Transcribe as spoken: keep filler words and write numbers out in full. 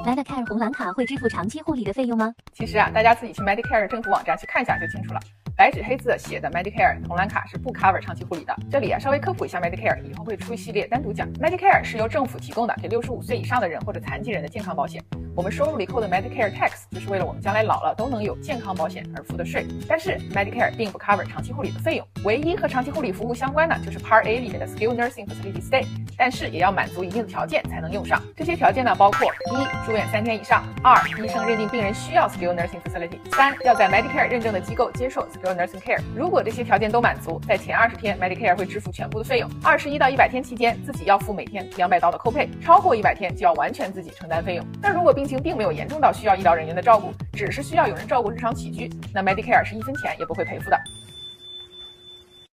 Medicare 红蓝卡会支付长期护理的费用吗？ 其实啊，大家自己去 Medicare 政府网站去看一下就清楚了。白纸黑字写的 Medicare 红蓝卡是不 cover 长期护理的。这里啊，稍微科普一下 Medicare， 以后会出一系列单独讲。Medicare 是由政府提供的给六十五岁以上的人或者残疾人的健康保险。我们收入里扣的 Medicare tax 就是为了我们将来老了都能有健康保险而付的税。但是 Medicare 并不 cover 长期护理的费用，唯一和长期护理服务相关的就是 Part A 里面的 Skilled Nursing Facility Stay， 但是也要满足一定的条件才能用上。这些条件呢，包括一、住院三天以上；二、医生认定病人需要 Skilled Nursing Facility；三、要在 Medicare 认证的机构接受 Skilled Nursing Care。如果这些条件都满足，在前二十天 Medicare 会支付全部的费用。二十一到一百天期间，自己要付每天两百刀的扣配，超过一百天就要完全自己承担费用。那如果病情并没有严重到需要医疗人员的照顾，只是需要有人照顾日常起居，那 Medicare 是一分钱也不会赔付的。